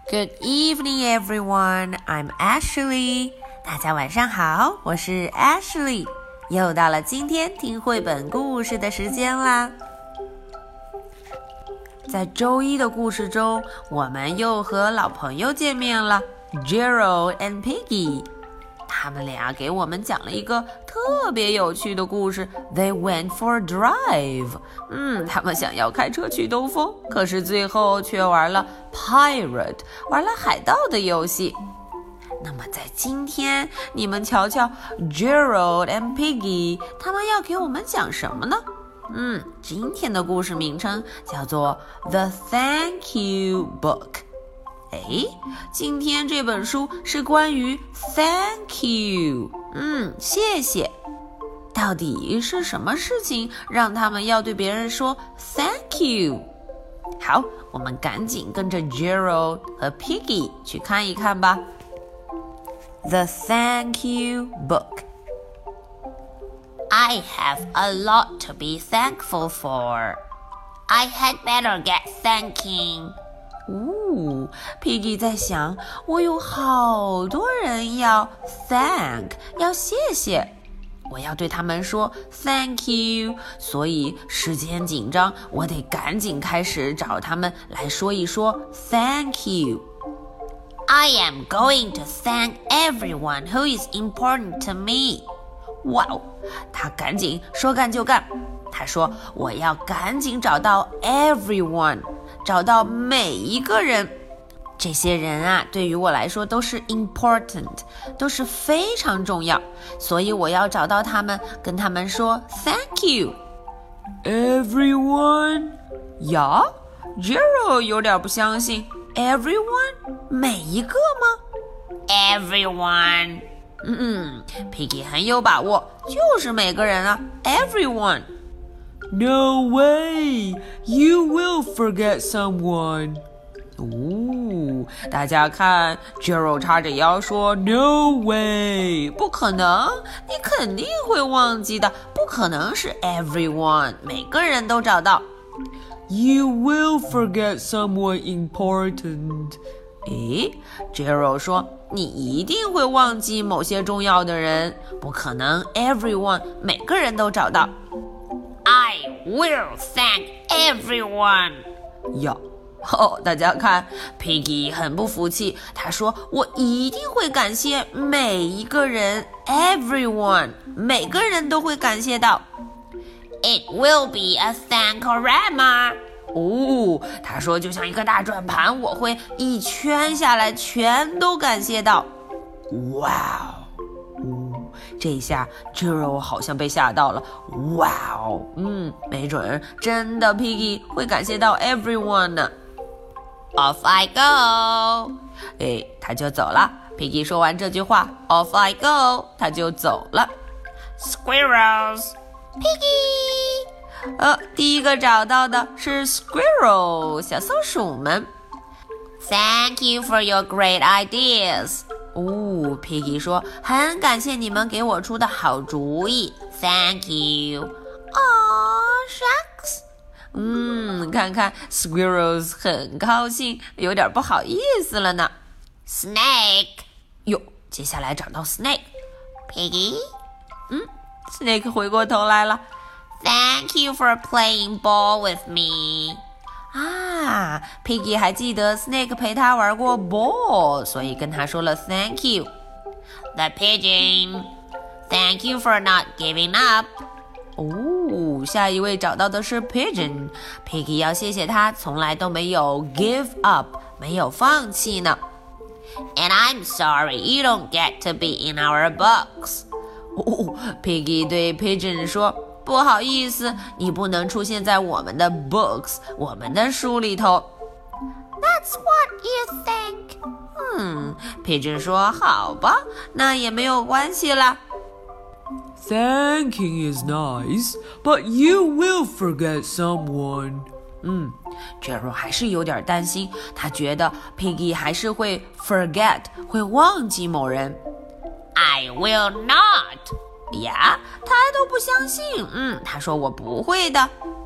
Good evening, everyone. I'm Ashley. 大家晚上好，我是 Ashley。又到了今天听绘本故事的时间啦。在周一的故事中，我们又和老朋友见面了 Gerald and Piggy。他们俩给我们讲了一个特别有趣的故事 They went for a drive。他们想要开车去兜风，可是最后却玩了 Pirate， 玩了海盗的游戏。那么在今天，你们瞧瞧 Gerald and Piggy， 他们要给我们讲什么呢？今天的故事名称叫做 The Thank You Book。今天这本书是关于 Thank you， 谢谢。到底是什么事情让他们要对别人说 Thank you？ 好，我们赶紧跟着 Gerald 和 Piggy 去看一看吧。The Thank You Book。 I have a lot to be thankful for. I had better get thanking. Piggy 在想，我有好多人要 thank， 要谢谢，我要对他们说 thank you， 所以时间紧张，我得赶紧开始找他们来说一说 thank you。 I am going to thank everyone who is important to me. 哇哦，他赶紧说干就干，他说我要赶紧找到 everyone， 找到每一个人。这些人啊，对于我来说都是 important， 都是非常重要，所以我要找到他们，跟他们说 thank you。 Everyone？ 呀 Gerald 有点不相信， everyone？ 每一个吗？ Everyone。 Piggy 很有把握，就是每个人啊 everyone。 No way, you will forget someone。大家看 Gerald 叉着腰说 No way， 不可能，你肯定会忘记的，不可能是 everyone， 每个人都找到。 You will forget someone important。 Gerald 说你一定会忘记某些重要的人，不可能 everyone， 每个人都找到。 I will thank everyone。 大家看 Piggy 很不服气，他说我一定会感谢每一个人 everyone， 每个人都会感谢到。 It will be a thankorama。 他说就像一个大转盘，我会一圈下来全都感谢到。哇哦，这下 Gerald 好像被吓到了。哇哦，没准真的 Piggy 会感谢到 everyone 呢。 Off I go。 他就走了。 Piggy 说完这句话 Off I go， 他就走了。 Squirrels。 Piggy。第一个找到的是 Squirrel， 小松鼠们。 Thank you for your great ideas。 Piggy 说很感谢你们给我出的好主意。 Thank you。 Aw, shucks。看看 Squirrels 很高兴，有点不好意思了呢。 Snake。 接下来找到 Snake。 Piggy。 Snake 回过头来了。 Thank you for playing ball with me。 Piggy 还记得 Snake 陪他玩过 ball， 所以跟他说了 Thank you。 The pigeon。 Thank you for not giving up。 下一位找到的是 Pigeon。 Piggy 要谢谢他从来都没有 give up， 没有放弃呢。 And I'm sorry you don't get to be in our books。 Piggy 对 Pigeon 说不好意思，你不能出现在我们的 books， 我们的书里头。 That's what you think。 Pigeon 说好吧，那也没有关系啦。Thanking is nice, but you will forget someone. Gerald 还是有点担心，他觉得 Piggy 还是会 forget， 会忘记某人。 I will not。 他都不相信。他说我不会的。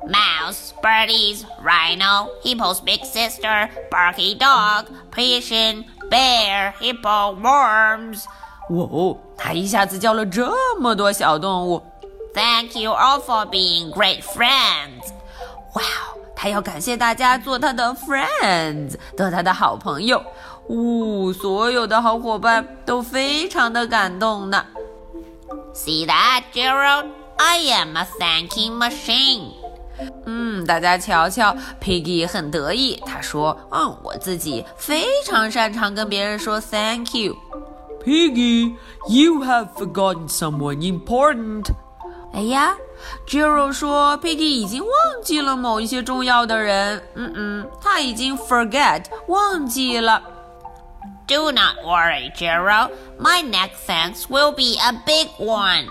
Mouse, birdies, rhino, hippo's big sister, barky dog, pigeon, bear, hippo, worms. 哇哦，他一下子叫了这么多小动物。 Thank you all for being great friends. 哇哦，他要感谢大家做他的 friends， 做他的好朋友。所有的好伙伴都非常的感动呢。 See that, Gerald? I am a thanking machine. 大家瞧瞧 Piggy 很得意，他说我自己非常擅长跟别人说 thank you。 Piggy, you have forgotten someone important. 哎呀 Gerald 说 Piggy 已经忘记了某一些重要的人。他已经 forget 忘记了。 Do not worry, Gerald. My next thanks will be a big one.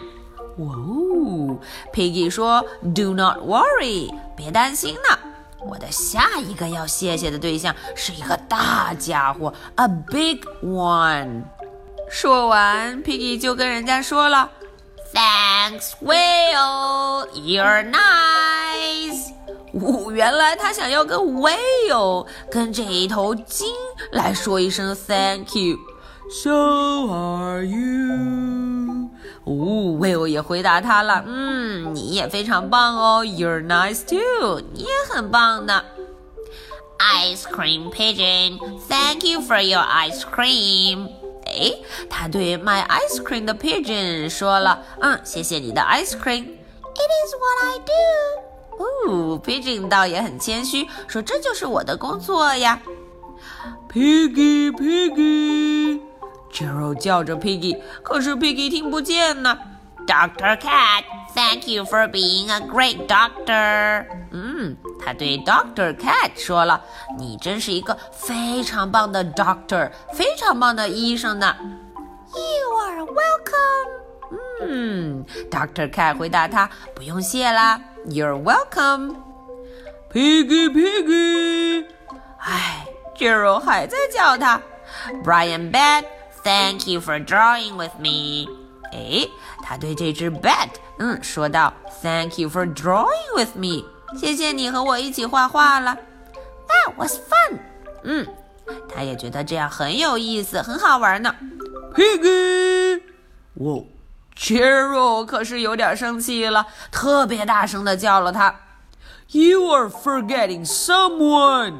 Piggy 说 Do not worry， 别担心呢，我的下一个要谢谢的对象是一个大家伙 A big one。 说完 Piggy 就跟人家说了 Thanks, Will. You're nice. 原来他想要跟 Whale 跟这一头鲸来说一声 Thank you。 So are you. Will 也回答他了，你也非常棒哦 You're nice too， 你也很棒呢。 Ice cream pigeon. Thank you for your ice cream. 他对卖 ice cream 的 pigeon 说了，谢谢你的 ice cream。 It is what I do. Pigeon 倒也很谦虚，说这就是我的工作呀。 Piggy, Piggy. Gerald 叫着 Piggy， 可是 Piggy 听不见呢。 Dr. Cat. Thank you for being a great doctor. 他对 Dr. Cat 说了，你真是一个非常棒的 doctor， 非常棒的医生呢。 You are welcome. Dr. Cat 回答他，不用谢啦 You're welcome。 Piggy, Piggy. Gerald 还在叫他。 Brian Bat. Thank you for drawing with me. 他对这只 bat 说道 Thank you for drawing with me， 谢谢你和我一起画画了。 That was fun. 他也觉得这样很有意思，很好玩呢。 Piggy. Gerald 可是有点生气了，特别大声地叫了他。 You are forgetting someone.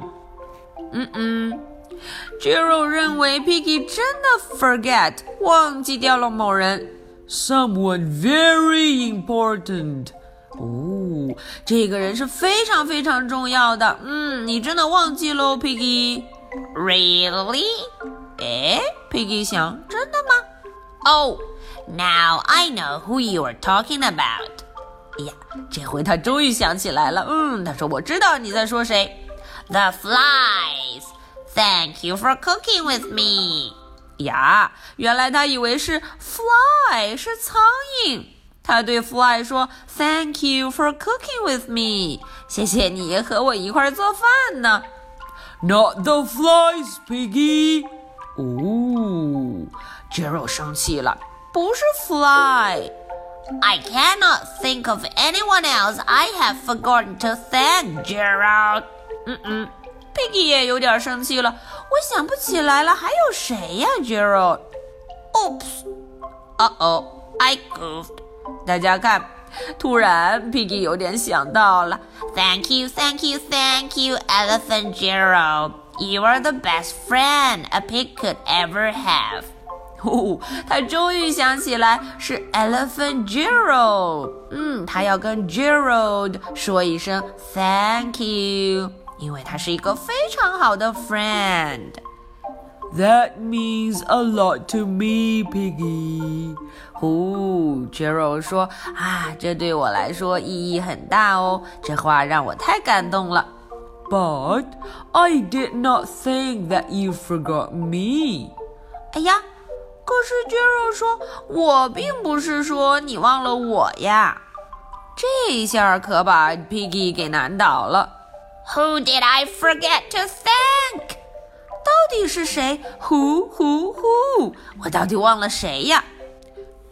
Gerald 认为 Piggy 真的 forget 忘记掉了某人。 Someone very important. 这个人是非常非常重要的。你真的忘记了 Piggy。 Really? Piggy 想，真的吗？ Oh, now I know who you are talking about. 这回他终于想起来了。他说我知道你在说谁。 The flies. Thank you for cooking with me. 原来他以为是 fly 是苍蝇。他对 fly 说 Thank you for cooking with me， 谢谢你和我一块做饭呢。 Not the flies, Piggy. Gerald 生气了，不是 fly。 I cannot think of anyone else I have forgotten to thank, Gerald. Piggy 也有点生气了，我想不起来了，还有谁呀 Gerald？ Oops. Uh-oh, I goofed. 大家看，突然 Piggy 有点想到了。 Thank you, thank you, thank you, Elephant Gerald. You are the best friend a pig could ever have. 他终于想起来是 Elephant Gerald。他要跟 Gerald 说一声 Thank you， 因为他是一个非常好的 friend。 That means a lot to me, Piggy. Gerald 说这对我来说意义很大哦，这话让我太感动了。 But I did not think that you forgot me. 可是 Gerald 说我并不是说你忘了我呀。这一下可把 Piggy 给难倒了。 Who did I forget to thank? 到底是谁？ Who？ 我到底忘了谁呀？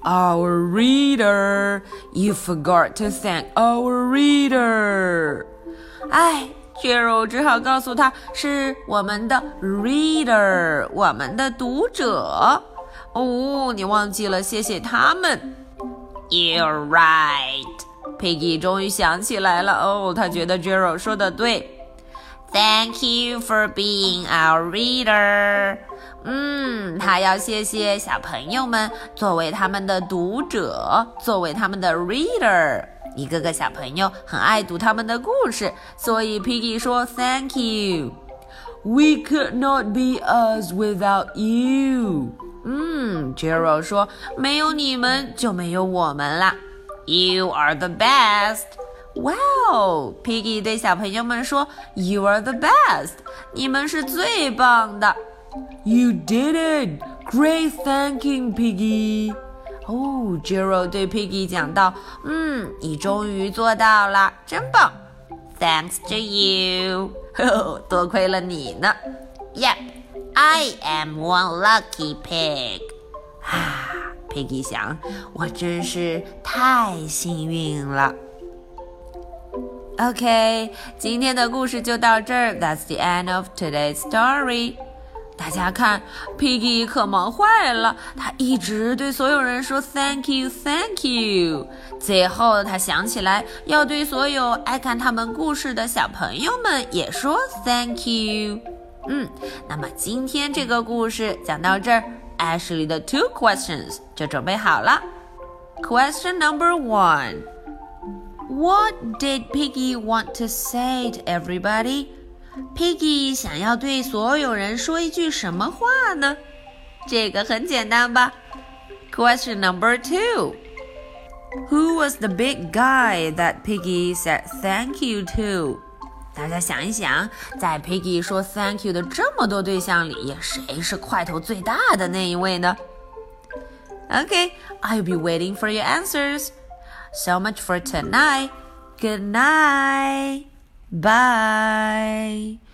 Our reader. You forgot to thank our reader. 哎，Gerald 只好告诉他是我们的 reader， 我们的读者。哦，你忘记了谢谢他们。 You're right. Piggy 终于想起来了。哦，他觉得 Gerald 说的对。 Thank you for being our reader. 他要谢谢小朋友们作为他们的读者，作为他们的 reader。一个个小朋友很爱读他们的故事，所以 Piggy 说 Thank you. We could not be us without you. Gerald 说没有你们就没有我们啦。 You are the best. Wow! Piggy 对小朋友们说 You are the best. 你们是最棒的。 You did it! Great thanking, Piggy. Gerald 对 Piggy 讲道，你终于做到了，真棒。 Thanks to you. 多亏了你呢。 Yep, I am one lucky pig. Piggy 想，我真是太幸运了。OK， 今天的故事就到这儿。That's the end of today's story. 大家看 Piggy 可忙坏了，他一直对所有人说 Thank you, Thank you。最后他想起来要对所有爱看他们故事的小朋友们也说 Thank you。那么今天这个故事讲到这儿 ，Ashley 的 two questions 就准备好了。Question number 1. What did Piggy want to say to everybody?Piggy 想要对所有人说一句什么话呢？这个很简单吧。Question number 2. Who was the big guy that Piggy said thank you to? 大家想一想，在 Piggy 说 thank you 的这么多对象里，谁是块头最大的那一位呢？ Okay, I'll be waiting for your answers. So much for tonight. Good night. Bye.